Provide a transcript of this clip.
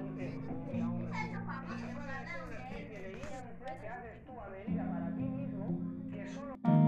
Eso famoso, cada vez que haces tu avenida para ti mismo, que solo